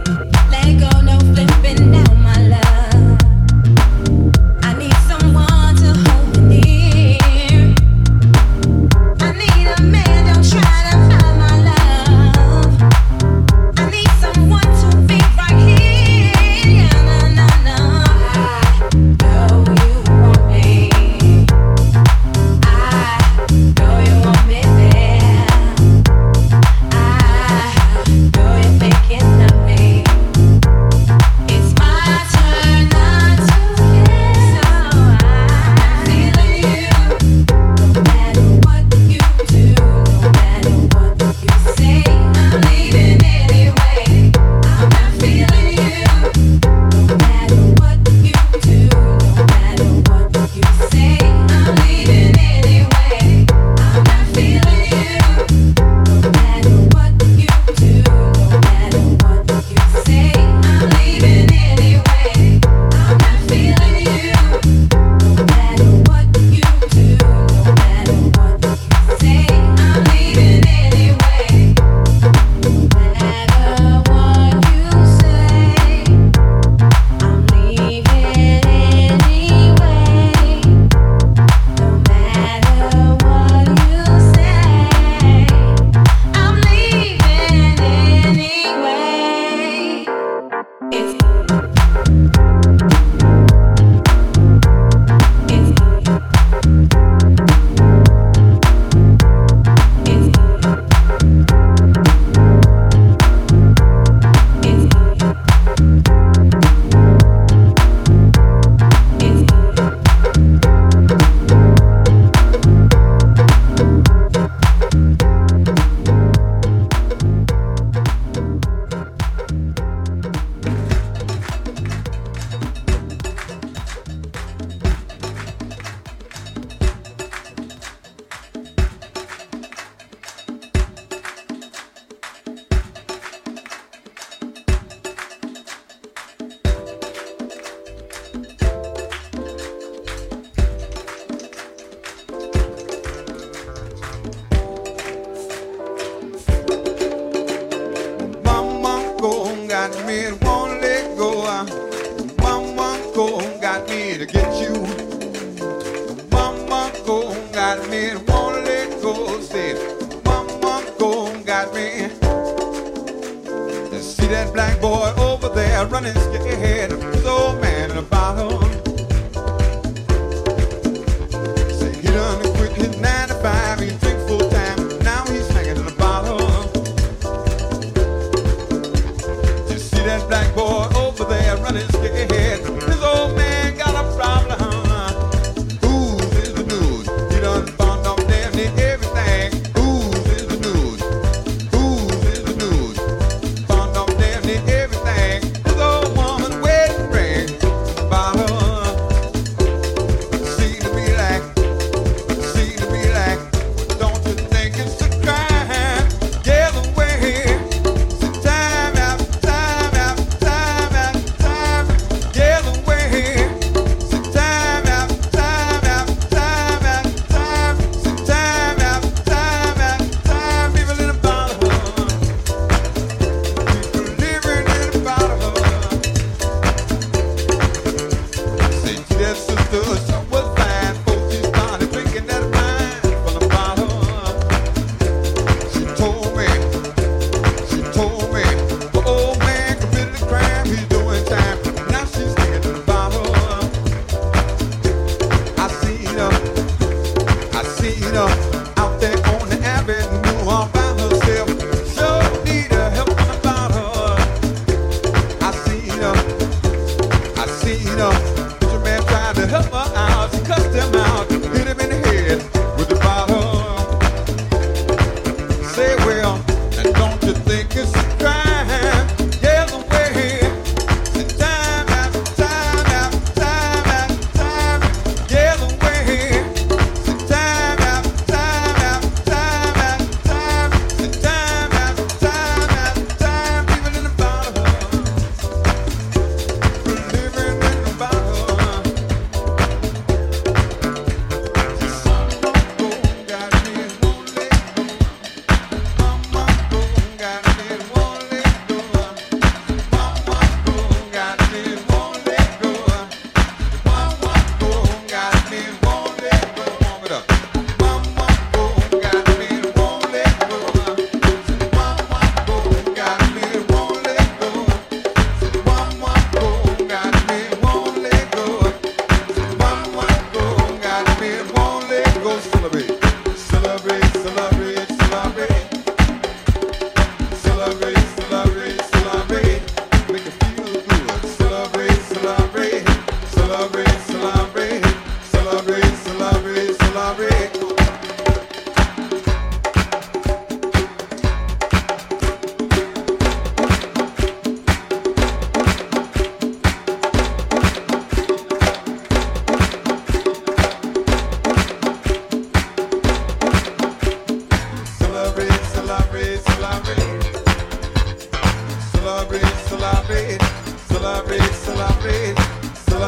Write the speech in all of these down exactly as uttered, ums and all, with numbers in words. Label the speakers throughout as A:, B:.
A: Living in the bottle.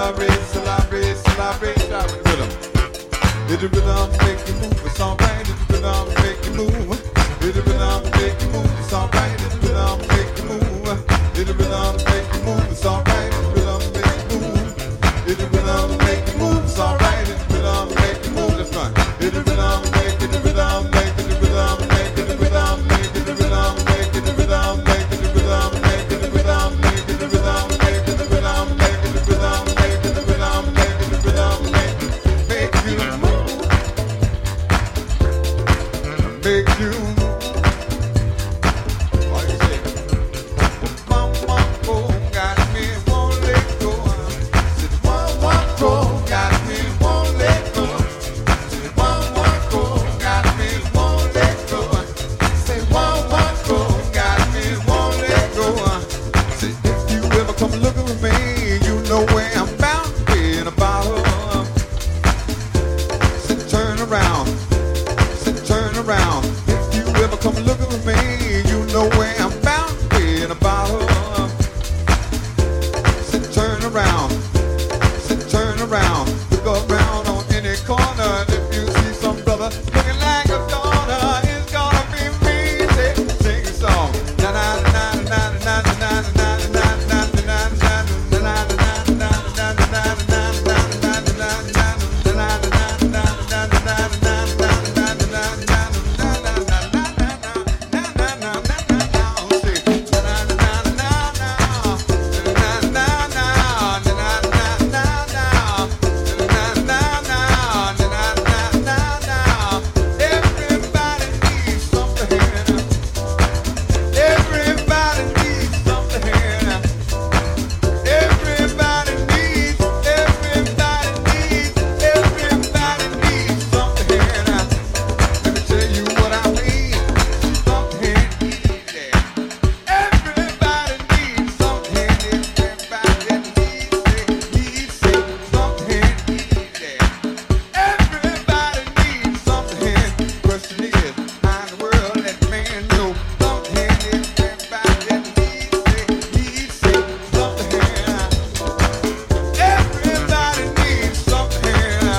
A: celebrate, celebrate, celebrate, celebrate rhythm. Hit the rhythm, make you move, it's alright. Hit the rhythm, make you move. Hit the rhythm, make you move, it's alright. Hit the rhythm, make you move. Hit the rhythm, make you move, it's alright. Hit the rhythm, make you move. Hit the rhythm, make you move, it's alright. Hit the rhythm, make you move, that's right. Hit the rhythm, make it the rhythm, make it the rhythm, make it the rhythm, make it the rhythm, make it the rhythm, make it the rhythm, make it the rhythm, make it the rhythm, make it the rhythm, make it the rhythm, make it the rhythm, make it the rhythm, make make you move, make you. What you say? One one four got me, won't let go. Said one one four got me, won't let go. Said one one four got me, won't let go. Say one one four got me, won't let go. Say if you ever come looking for me, you know where I'm bound to be in a bottle. Say turn around, say turn around. If you ever come looking for me, you know where I'm bound to be in a bottle. Say turn around, say turn around. Look around on any corner. If you see some brother looking like a daughter, it's gonna be me. Say, sing a song. Na na na na na na na na na na na everybody needs something. Everybody needs something. Everybody needs, everybody needs, everybody needs something. Let me tell you what I mean. Something easy. Everybody needs something. Everybody needs it. Needs it. Something easy. Everybody needs something. Question is, how in the world let man know something? Everybody needs it. Needs it. Something. Everybody needs something.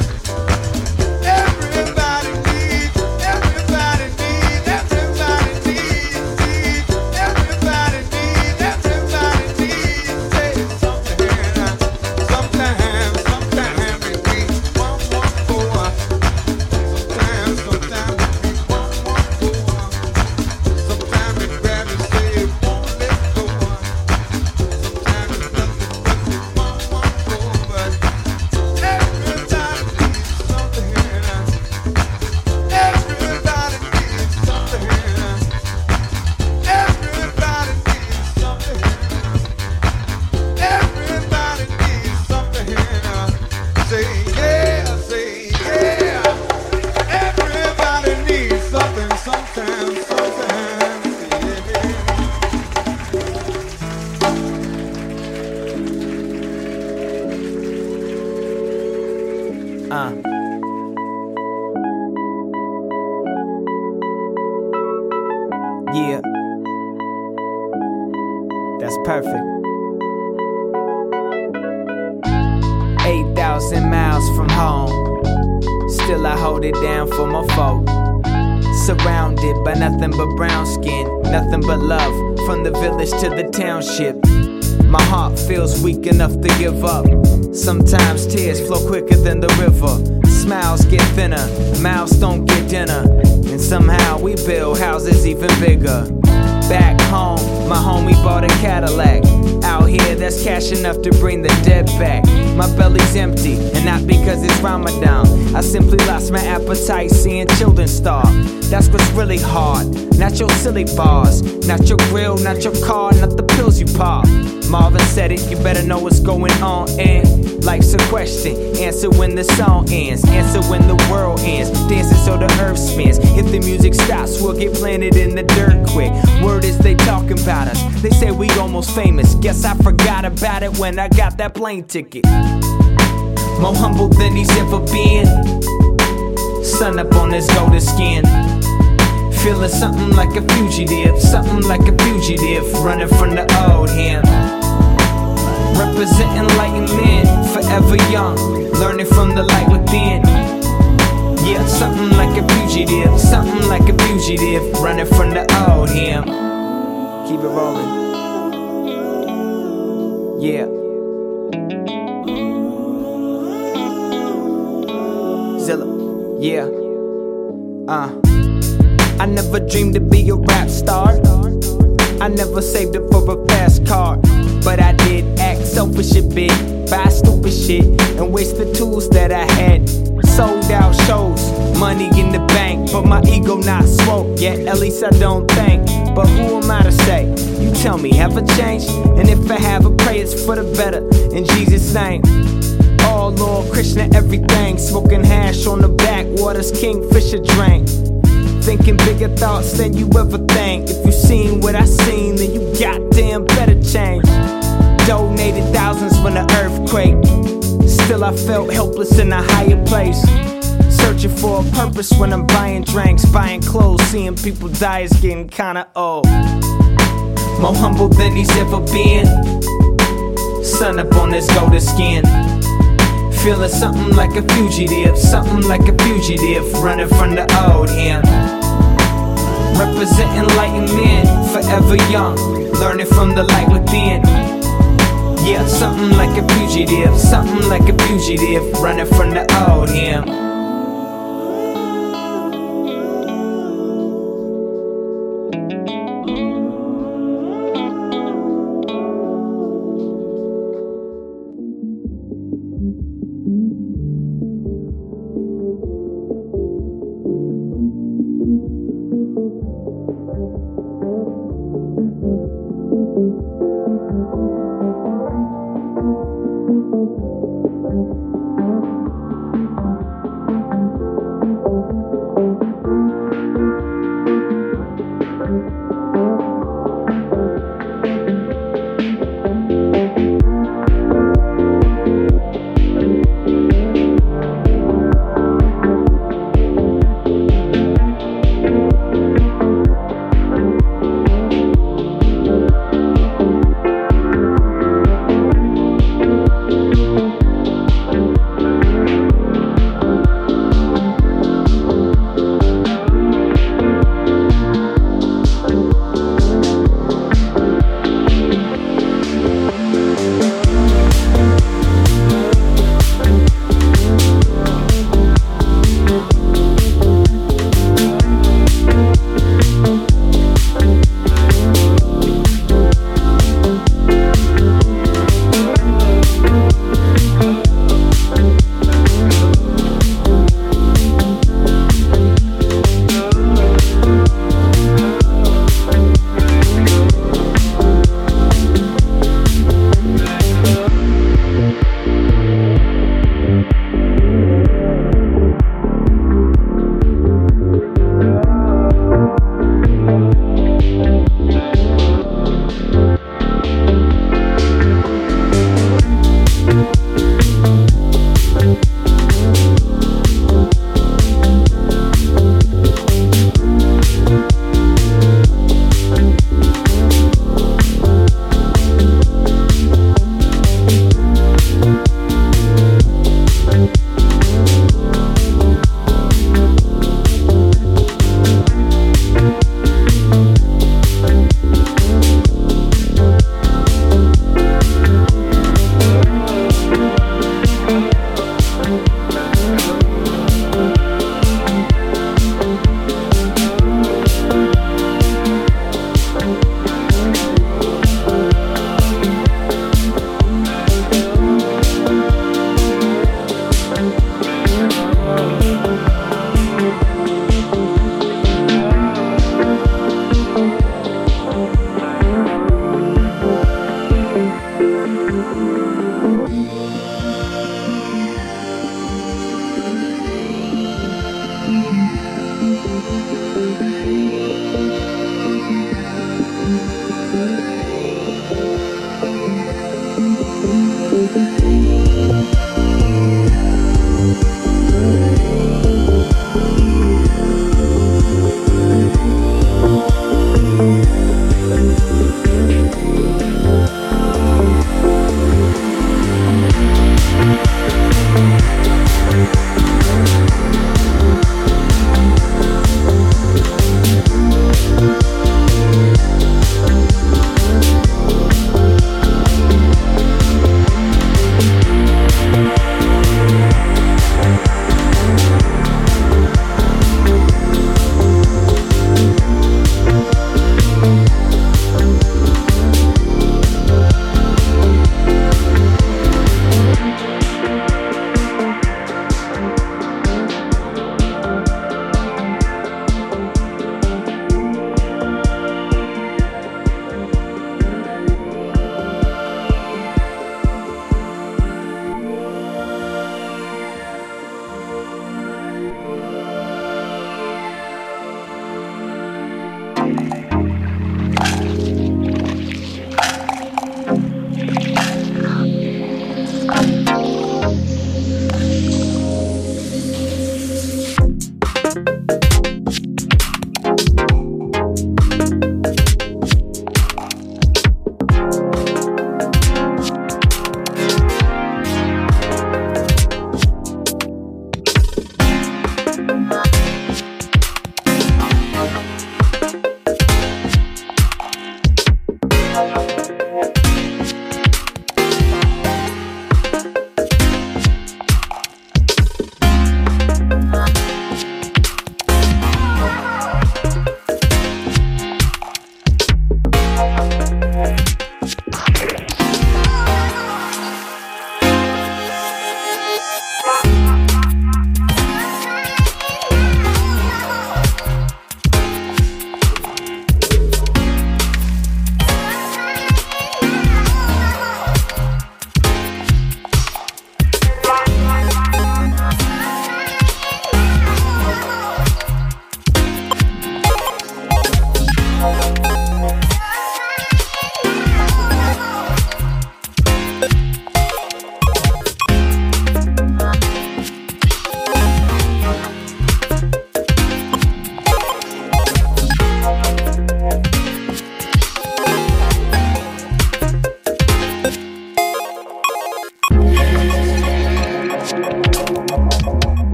A: Everybody needs, everybody needs, everybody needs, needs, everybody needs, everybody needs, say something. Sometimes, sometimes it be one, one, four. Sometimes, sometimes it be one, one, four. Sometimes it grab and say it won't let go. Sometimes it does it, does it, one, one, four. But everybody needs something. Everybody needs something. Everybody needs something. Everybody needs something. Say yeah, say yeah. Everybody needs something sometimes, sometimes. Yeah.
B: Uh. Yeah. That's perfect. eight thousand miles from home. Still I hold it down for my folk. Surrounded by nothing but brown skin. Nothing but love from the village to the township. My heart feels weak enough to give up. Sometimes tears flow quicker than the river. Smiles get thinner, mouths don't get dinner. And somehow we build houses even bigger. Back home, my homie bought a Cadillac. Out here, that's cash enough to bring the dead back. My belly's empty, and not because it's Ramadan. I simply lost my appetite seeing children starve. That's what's really hard. Not your silly bars, not your grill, not your car, not the pills you pop. Marvin said it, you better know what's going on. And life's a question, answer when the song ends, answer when the world ends, dancing so the earth spins. If the music stops, we'll get planted in the dirt quick. Word is they talking about us, they say we almost famous. Guess I forgot about it when I got that plane ticket. More humble than he's ever been. Sun up on his golden skin. Feeling something like a fugitive, something like a fugitive, running from the old him. Representing enlightenment, forever from the light within. Yeah, something like a fugitive, something like a fugitive, running from the old him. Keep it rolling. Yeah. Zilla, yeah. Uh. I never dreamed to be a rap star. I never saved up for a fast car, but I did act selfish a bit, buy stupid shit, and waste the tools that I had. Sold out shows, money in the bank, but my ego not smoked yet, at least I don't think. But who am I to say? You tell me, have I changed? And if I have, I pray it's for the better, in Jesus' name. Oh Lord, Krishna, everything, smoking hash on the backwaters, Kingfisher drink. Thinking bigger thoughts than you ever think. If you seen what I seen, then you goddamn better change. Donated thousands when the earthquake. Still I felt helpless in a higher place. Searching for a purpose when I'm buying drinks, buying clothes, seeing people die is getting kinda old. More humble than he's ever been. Sun up on his golden skin. Feeling something like a fugitive, something like a fugitive, running from the old him. Representing enlightened men, forever young, learning from the light within. Yeah, something like a fugitive, something like a fugitive, running from the old him.